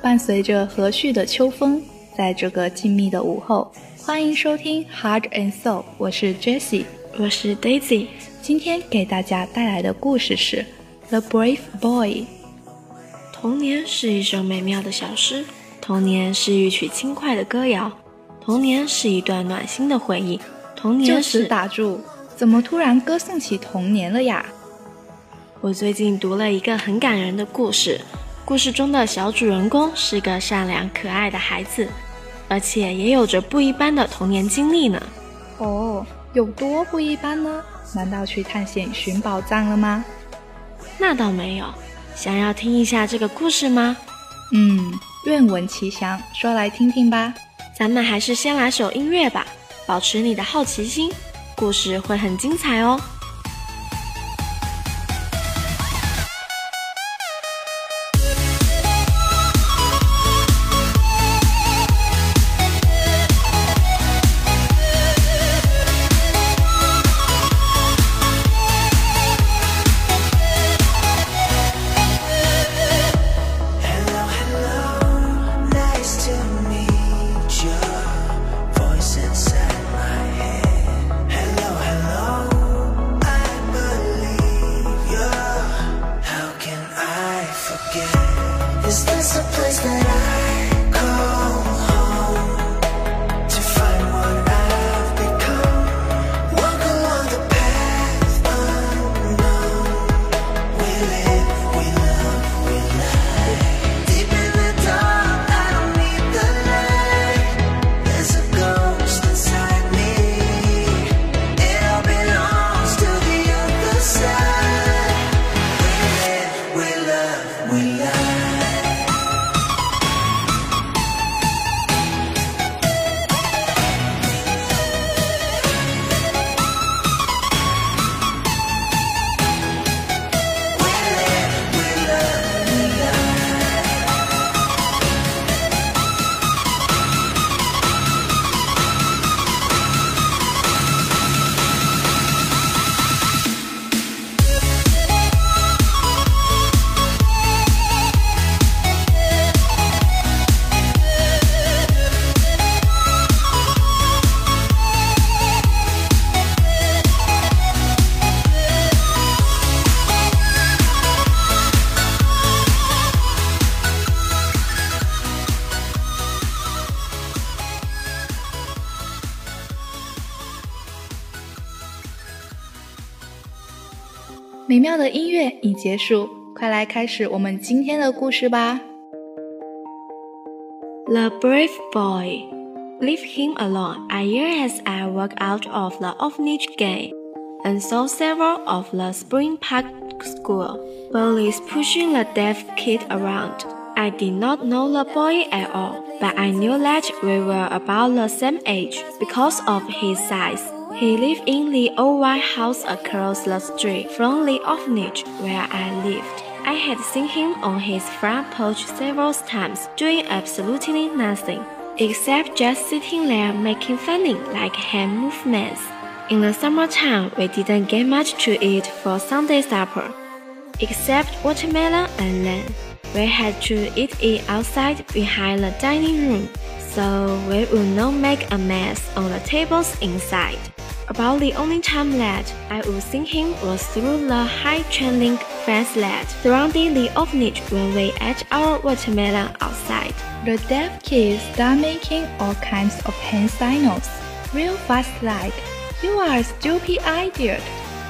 伴随着和煦的秋风，在这个静谧的午后，欢迎收听 Heart and Soul， 我是 Jessie， 我是 Daisy。 今天给大家带来的故事是 The Brave Boy。 童年是一首美妙的小诗，童年是一曲轻快的歌谣，童年是一段暖心的回忆，童年是…… 就此打住，怎么突然歌颂起童年了呀？ 我最近读了一个很感人的故事，故事中的小主人公是个善良可爱的孩子，而且也有着不一般的童年经历呢。 哦，有多不一般呢？难道去探险寻宝藏了吗？ 那倒没有。想要听一下这个故事吗？ 愿闻其详，说来听听吧。 咱们还是先来首音乐吧，保持你的好奇心，故事会很精彩哦。 Is this a place that I call home to find what I've become? Walk along the path unknown. We live, we love, we lie. Deep in the dark, I don't need the light. There's a ghost inside me. It all belongs to the other side. We live, we love, we lie. 美妙的音乐已结束，快来开始我们今天的故事吧。 The brave boy. Leave him alone. A year as I walked out of the orphanage gate and saw several of the Spring Park school bullies pushing the deaf kid around. I did not know the boy at all, but I knew that we were about the same age because of his size. He lived in the old white house across the street from the orphanage where I lived. I had seen him on his front porch several times, doing absolutely nothing, except just sitting there making funny like hand movements. In the summertime, we didn't get much to eat for Sunday supper, except watermelon and lamb. We had to eat it outside behind the dining room, so we would not make a mess on the tables inside. About the only time that I would see him was through the high chain link fence that surrounding the orphanage when we ate our watermelon outside. The deaf kids start making all kinds of hand signals, real fast like, "You are a stupid idiot."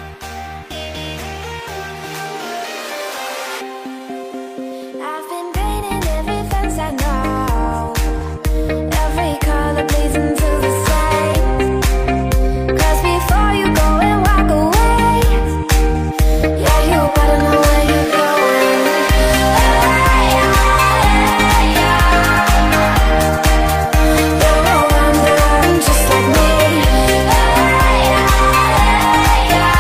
I've been painting every fence I know, every color pleasing to the sight. 'Cause before you go and walk away, yeah, you better know where you're going. You're a wanderer just like me.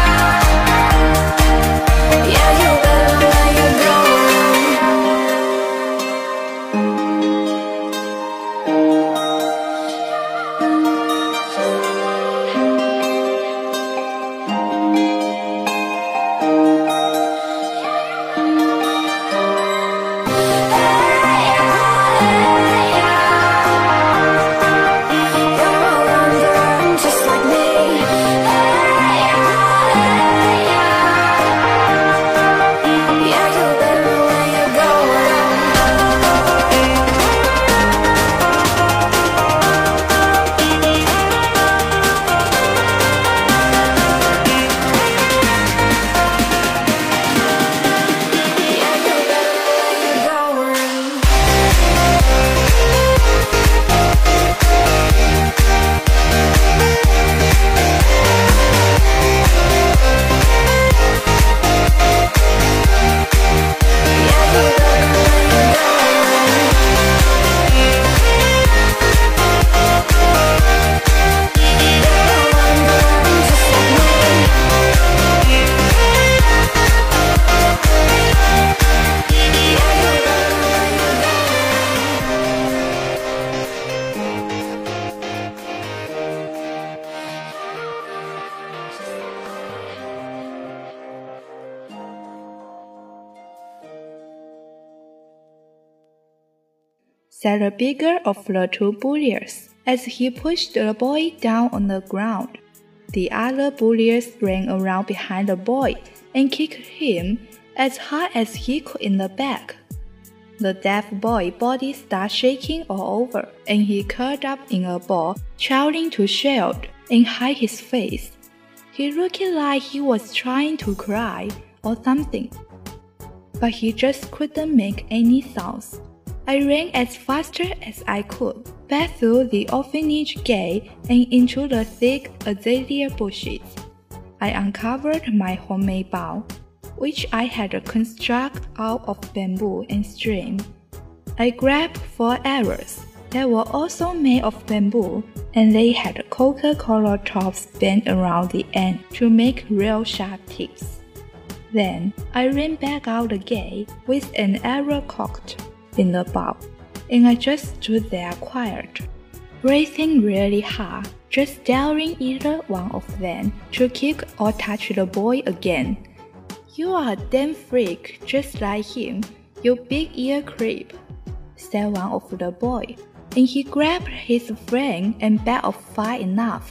said the bigger of the two bullies, as he pushed the boy down on the ground. The other bullies ran around behind the boy and kicked him as hard as he could in the back. The deaf boy's body started shaking all over, and he curled up in a ball, trying to shield and hide his face. He looked like he was trying to cry or something, but he just couldn't make any sounds. I ran as fast as I could, back through the orphanage gate and into the thick azalea bushes. I uncovered my homemade bow, which I had constructed out of bamboo and string. I grabbed 4 arrows that were also made of bamboo, and they had Coca-Cola tops bent around the end to make real sharp tips. Then I ran back out the gate with an arrow cocked in the bow, and I just stood there quiet, breathing really hard, just daring either one of them to kick or touch the boy again. "You are a damn freak, just like him, you big ear creep," said one of the boys, and he grabbed his friend and backed off far enough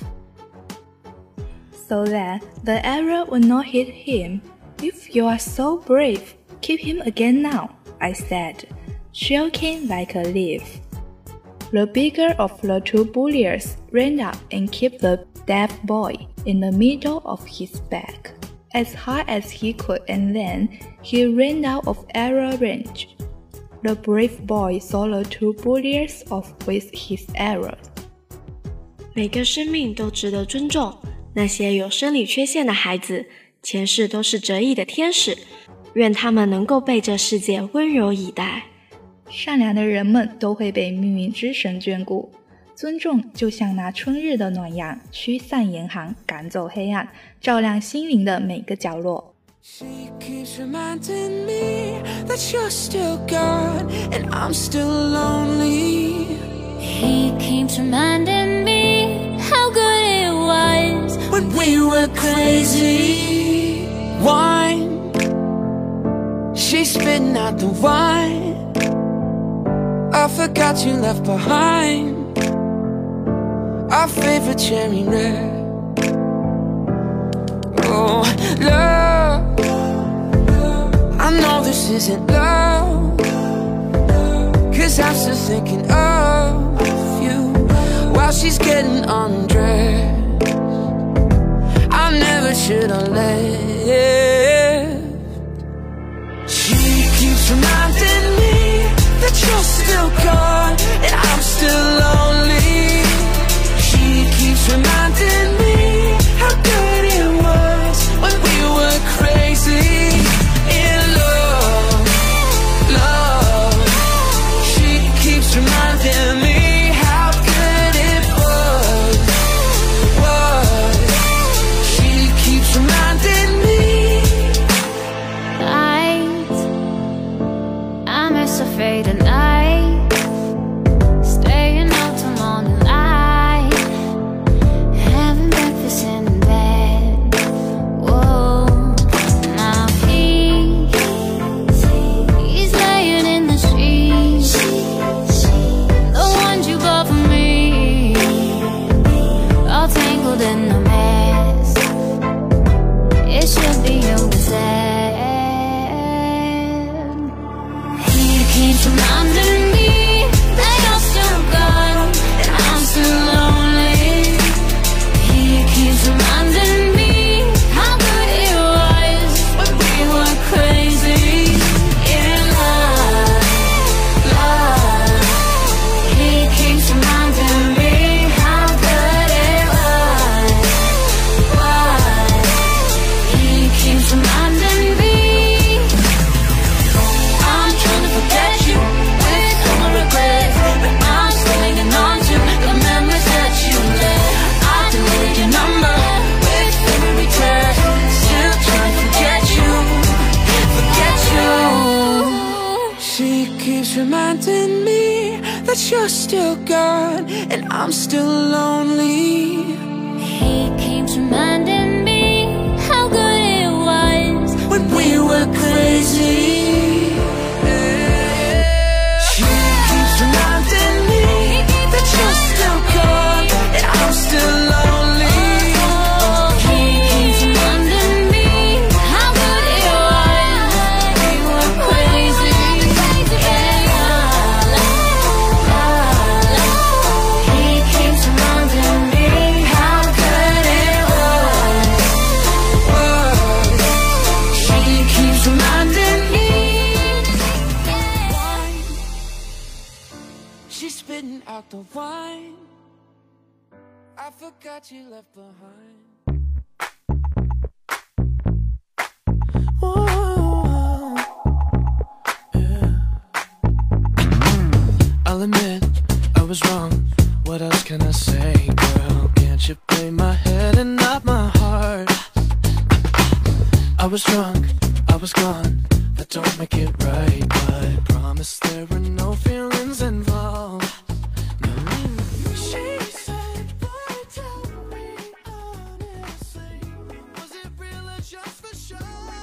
so that the arrow would not hit him. "If you are so brave, keep him again now," I said, shaking like a leaf. The bigger of the two bullies ran up and kicked the deaf boy in the middle of his back as hard as he could, and then he ran out of arrow range. The brave boy saw the two bullies off with his arrows. 每个生命都值得尊重，那些有生理缺陷的孩子，前世都是折翼的天使，愿他们能够被这世界温柔以待。 善良的人们都会被命运之神眷顾，尊重就像那春日的暖阳，驱散严寒，赶走黑暗，照亮心灵的每个角落。 She keeps reminding me that you're still gone and I'm still lonely. He keeps reminding me how good it was When we were crazy, wine, she's spitting out the wine. I forgot you left behind our favorite cherry red. Oh, love, I know this isn't love, 'cause I'm still thinking of you while she's getting undressed. I never should have left. She keeps reminding me that you're still gone and I'm still lonely. She keeps reminding me how good it was when we were crazy in love, love. She keeps reminding me how good it was. She keeps reminding me. I'm as afraid of night, staying out till morning light, having breakfast in bed. Whoa, now he's laying in the sheets, the ones you bought for me, all tangled in a mess. It should be over sad. He keeps reminding me that you're still gone and I'm still lonely. He keeps reminding me how good it was when we were crazy in love, love. He keeps reminding me how good it was. He keeps reminding me. I'm trying to forget you with all my regrets, but I'm still hanging on to the memories that you left. I deleted your number with every text, still trying to forget you, forget you. She keeps reminding me that you're still gone and I'm still lonely. He keeps reminding me how good it was When we were crazy, she keeps reminding I forgot you left behind. Whoa, yeah. I'll admit I was wrong. What else can I say, girl? Can't you play my head and not my heart? I was drunk, I was gone. That don't make it right, but promise there were no feelings involved. No. She said, boy, tell me honestly, was it real or just for show?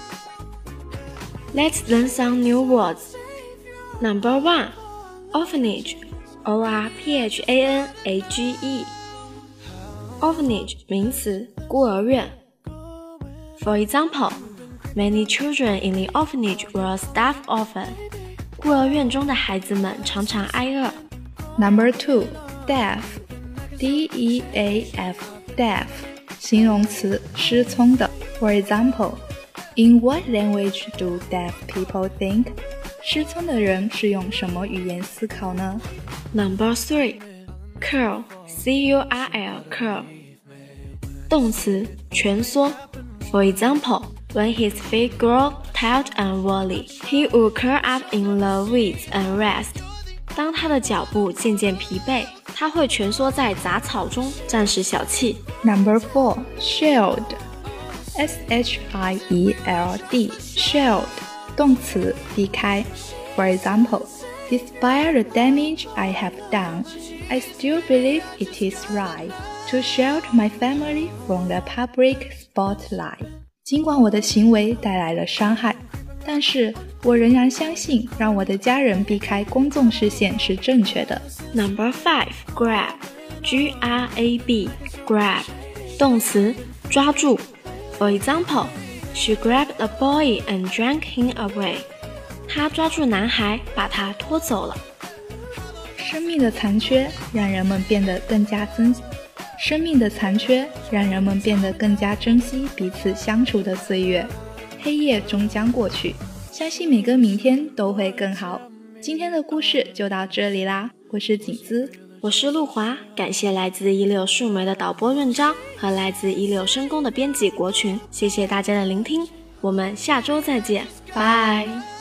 Let's learn some new words. Number 1. Orphanage. O-R-P-H-A-N-A-G-E. Orphanage 名词，孤儿院。For example, many children in the orphanage were starved often. 孤儿院中的孩子们常常挨饿。 Number 2. Deaf. D-E-A-F. Deaf. 形容词，失聪的。For example, in what language do deaf people think? 失聪的人是用什么语言思考呢？ Number 3. Curl. C-U-R-L. Curl. 动词，蜷缩。For example, when his feet grow tired and woolly, he would curl up in the weeds and rest. 当他的脚步渐渐疲惫，他会蜷缩在杂草中暂时小憩。 Number 4. Shield. S-H-I-E-L-D. Shield. 动词，避开。For example, despite the damage I have done, I still believe it is right to shield my family from the public spotlight. 尽管我的行为带来了伤害，但是我仍然相信让我的家人避开公众视线是正确的。 Number 5. Grab. G-R-A-B. Grab. 动词，抓住。For example, she grabbed the boy and dragged him away. 她抓住男孩，把他拖走了。 生命的残缺让人们变得更加珍惜彼此相处的岁月。黑夜终将过去，相信每个明天都会更好。今天的故事就到这里啦，我是景姿， 我是陆华，感谢来自16树莓的导播润章和来自16声工的编辑国群，谢谢大家的聆听，我们下周再见，拜。